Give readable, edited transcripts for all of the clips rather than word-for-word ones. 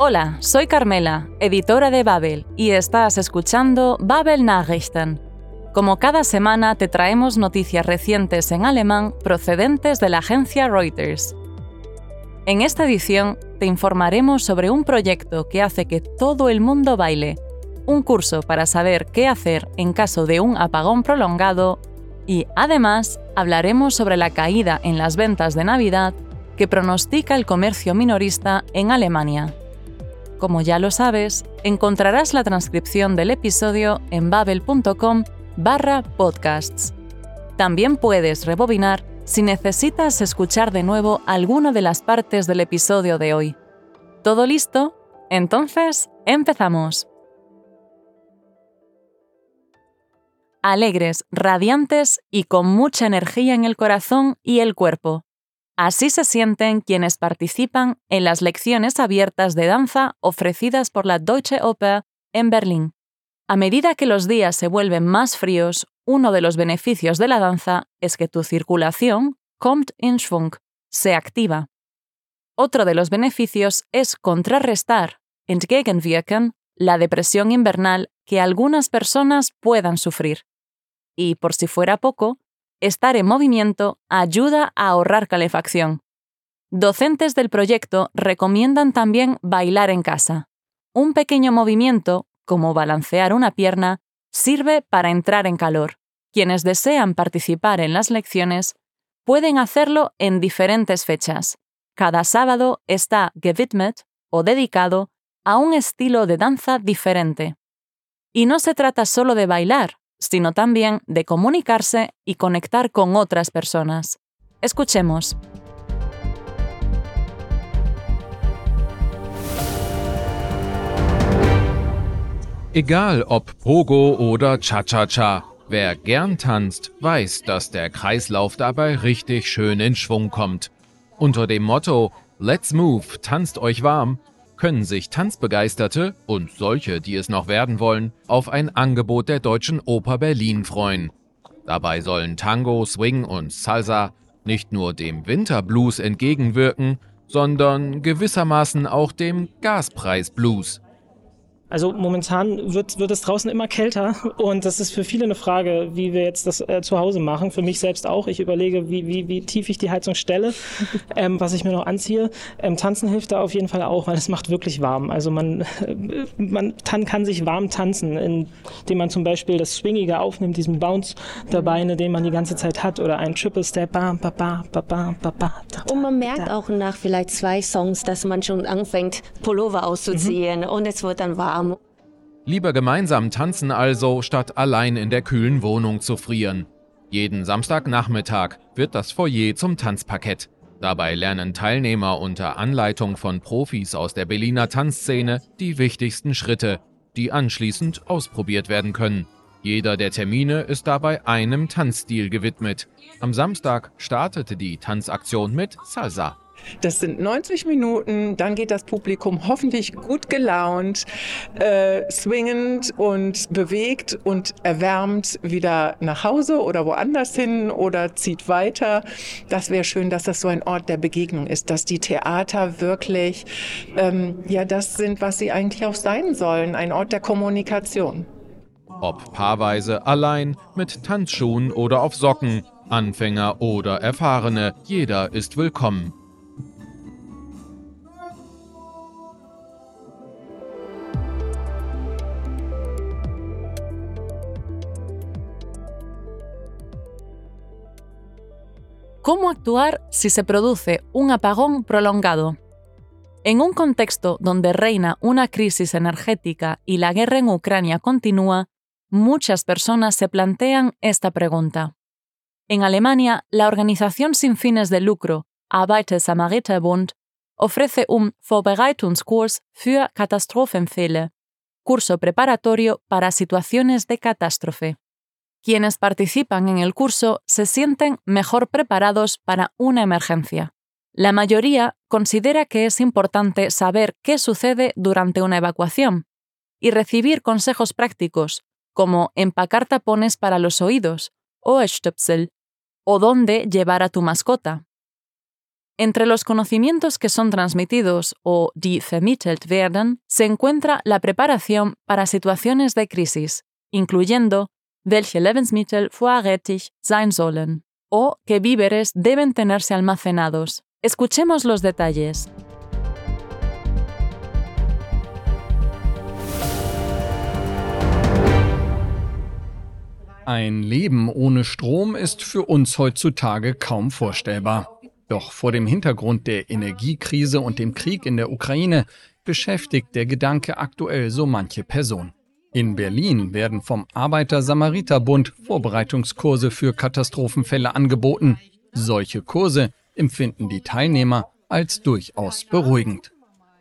Hola, soy Carmela, editora de Babel, y estás escuchando Babel Nachrichten. Como cada semana te traemos noticias recientes en alemán procedentes de la agencia Reuters. En esta edición te informaremos sobre un proyecto que hace que todo el mundo baile, un curso para saber qué hacer en caso de un apagón prolongado y, además, hablaremos sobre la caída en las ventas de Navidad que pronostica el comercio minorista en Alemania. Como ya lo sabes, encontrarás la transcripción del episodio en babel.com/podcasts. También puedes rebobinar si necesitas escuchar de nuevo alguna de las partes del episodio de hoy. ¿Todo listo? Entonces, empezamos. Alegres, radiantes y con mucha energía en el corazón y el cuerpo. Así se sienten quienes participan en las lecciones abiertas de danza ofrecidas por la Deutsche Oper en Berlín. A medida que los días se vuelven más fríos, uno de los beneficios de la danza es que tu circulación, kommt in Schwung, se activa. Otro de los beneficios es contrarrestar, entgegenwirken, la depresión invernal que algunas personas puedan sufrir. Y, por si fuera poco, estar en movimiento ayuda a ahorrar calefacción. Docentes del proyecto recomiendan también bailar en casa. Un pequeño movimiento, como balancear una pierna, sirve para entrar en calor. Quienes desean participar en las lecciones pueden hacerlo en diferentes fechas. Cada sábado está gewidmet o dedicado a un estilo de danza diferente. Y no se trata solo de bailar, sino también de comunicarse y conectar con otras personas. Escuchemos. Egal ob Pogo oder Cha-Cha-Cha, wer gern tanzt, weiß, dass der Kreislauf dabei richtig schön in Schwung kommt. Unter dem Motto Let's Move, tanzt euch warm, können sich Tanzbegeisterte und solche, die es noch werden wollen, auf ein Angebot der Deutschen Oper Berlin freuen. Dabei sollen Tango, Swing und Salsa nicht nur dem Winterblues entgegenwirken, sondern gewissermaßen auch dem Gaspreisblues. Also momentan wird es draußen immer kälter und das ist für viele eine Frage, wie wir jetzt das zu Hause machen. Für mich selbst auch. Ich überlege, wie tief ich die Heizung stelle, was ich mir noch anziehe. Tanzen hilft da auf jeden Fall auch, weil es macht wirklich warm. Also man kann sich warm tanzen, indem man zum Beispiel das Swingige aufnimmt, diesen Bounce der Beine, den man die ganze Zeit hat, oder ein Triple Step. Und man merkt auch nach vielleicht 2 Songs, dass man schon anfängt, Pullover auszuziehen und es wird dann warm. Lieber gemeinsam tanzen also, statt allein in der kühlen Wohnung zu frieren. Jeden Samstagnachmittag wird das Foyer zum Tanzparkett. Dabei lernen Teilnehmer unter Anleitung von Profis aus der Berliner Tanzszene die wichtigsten Schritte, die anschließend ausprobiert werden können. Jeder der Termine ist dabei einem Tanzstil gewidmet. Am Samstag startete die Tanzaktion mit Salsa. Das sind 90 Minuten, dann geht das Publikum hoffentlich gut gelaunt, swingend und bewegt und erwärmt wieder nach Hause oder woanders hin oder zieht weiter. Das wäre schön, dass das so ein Ort der Begegnung ist, dass die Theater wirklich das sind, was sie eigentlich auch sein sollen, ein Ort der Kommunikation. Ob paarweise, allein, mit Tanzschuhen oder auf Socken, Anfänger oder Erfahrene, jeder ist willkommen. ¿Cómo actuar si se produce un apagón prolongado? En un contexto donde reina una crisis energética y la guerra en Ucrania continúa, muchas personas se plantean esta pregunta. En Alemania, la organización sin fines de lucro Arbeiter-Samariter-Bund ofrece un Vorbereitungskurs für Katastrophenfälle, curso preparatorio para situaciones de catástrofe. Quienes participan en el curso se sienten mejor preparados para una emergencia. La mayoría considera que es importante saber qué sucede durante una evacuación y recibir consejos prácticos, como empacar tapones para los oídos, Ohrstöpsel, o dónde llevar a tu mascota. Entre los conocimientos que son transmitidos o die vermittelt werden, se encuentra la preparación para situaciones de crisis, incluyendo welche Lebensmittel vorrätig sein sollen o qué víveres deben tenerse almacenados. Escuchemos los detalles. Ein Leben ohne Strom ist für uns heutzutage kaum vorstellbar. Doch vor dem Hintergrund der Energiekrise und dem Krieg in der Ukraine beschäftigt der Gedanke aktuell so manche Person. In Berlin werden vom Arbeiter-Samariter-Bund Vorbereitungskurse für Katastrophenfälle angeboten. Solche Kurse empfinden die Teilnehmer als durchaus beruhigend.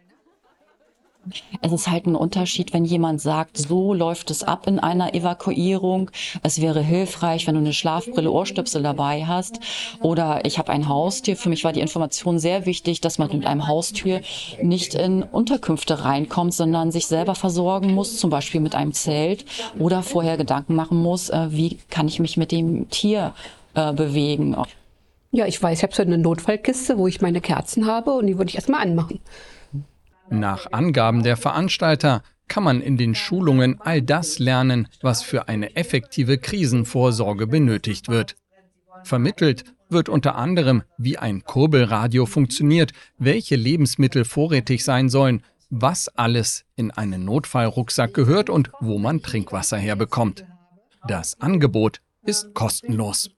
Es ist halt ein Unterschied, wenn jemand sagt, so läuft es ab in einer Evakuierung. Es wäre hilfreich, wenn du eine Schlafbrille, Ohrstöpsel dabei hast. Oder ich habe ein Haustier. Für mich war die Information sehr wichtig, dass man mit einem Haustier nicht in Unterkünfte reinkommt, sondern sich selber versorgen muss, zum Beispiel mit einem Zelt. Oder vorher Gedanken machen muss, wie kann ich mich mit dem Tier bewegen. Ja, ich weiß, ich habe so eine Notfallkiste, wo ich meine Kerzen habe und die würde ich erstmal anmachen. Nach Angaben der Veranstalter kann man in den Schulungen all das lernen, was für eine effektive Krisenvorsorge benötigt wird. Vermittelt wird unter anderem, wie ein Kurbelradio funktioniert, welche Lebensmittel vorrätig sein sollen, was alles in einen Notfallrucksack gehört und wo man Trinkwasser herbekommt. Das Angebot ist kostenlos.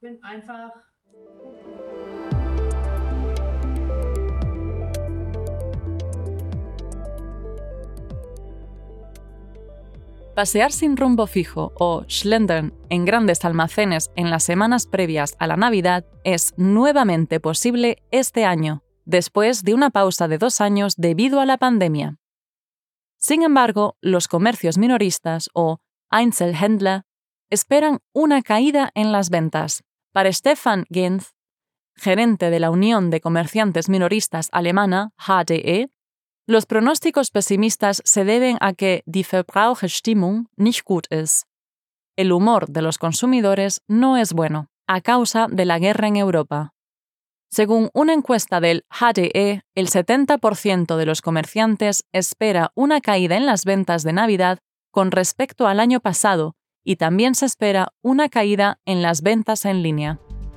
Pasear sin rumbo fijo o schlendern en grandes almacenes en las semanas previas a la Navidad es nuevamente posible este año, después de una pausa de 2 años debido a la pandemia. Sin embargo, los comercios minoristas o Einzelhändler esperan una caída en las ventas. Para Stefan Genz, gerente de la Unión de Comerciantes Minoristas alemana, HDE, los pronósticos pesimistas se deben a que die Verbraucherstimmung nicht gut ist. El humor de los consumidores no es bueno, a causa de la guerra en Europa. Según una encuesta del HDE, el 70% de los comerciantes espera una caída en las ventas de Navidad con respecto al año pasado y también se espera una caída en las ventas en línea.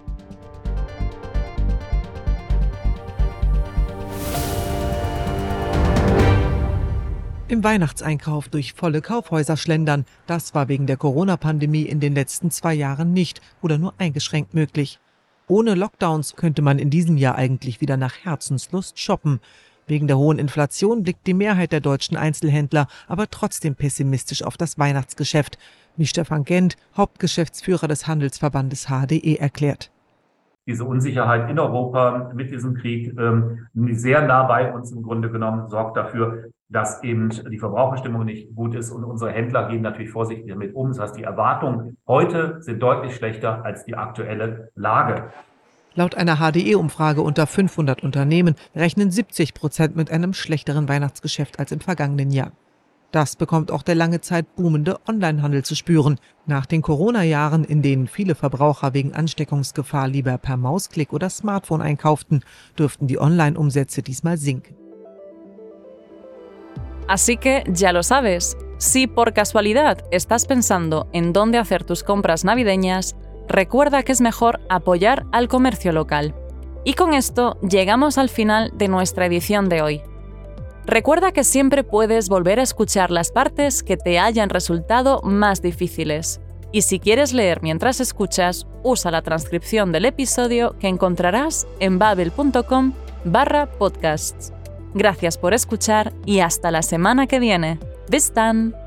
Im Weihnachtseinkauf durch volle Kaufhäuser schlendern, das war wegen der Corona-Pandemie in den letzten 2 Jahren nicht oder nur eingeschränkt möglich. Ohne Lockdowns könnte man in diesem Jahr eigentlich wieder nach Herzenslust shoppen. Wegen der hohen Inflation blickt die Mehrheit der deutschen Einzelhändler aber trotzdem pessimistisch auf das Weihnachtsgeschäft, wie Stefan Gent, Hauptgeschäftsführer des Handelsverbandes HDE, erklärt. Diese Unsicherheit in Europa mit diesem Krieg, sehr nah bei uns im Grunde genommen, sorgt dafür, dass eben die Verbraucherstimmung nicht gut ist und unsere Händler gehen natürlich vorsichtig damit um. Das heißt, die Erwartungen heute sind deutlich schlechter als die aktuelle Lage. Laut einer HDE-Umfrage unter 500 Unternehmen rechnen 70% mit einem schlechteren Weihnachtsgeschäft als im vergangenen Jahr. Das bekommt auch der lange Zeit boomende Onlinehandel zu spüren. Nach den Corona-Jahren, in denen viele Verbraucher wegen Ansteckungsgefahr lieber per Mausklick oder Smartphone einkauften, dürften die Online-Umsätze diesmal sinken. Así que ya lo sabes, si por casualidad estás pensando en dónde hacer tus compras navideñas, recuerda que es mejor apoyar al comercio local. Y con esto llegamos al final de nuestra edición de hoy. Recuerda que siempre puedes volver a escuchar las partes que te hayan resultado más difíciles. Y si quieres leer mientras escuchas, usa la transcripción del episodio que encontrarás en babbel.com/podcasts. Gracias por escuchar y hasta la semana que viene. Bis dann!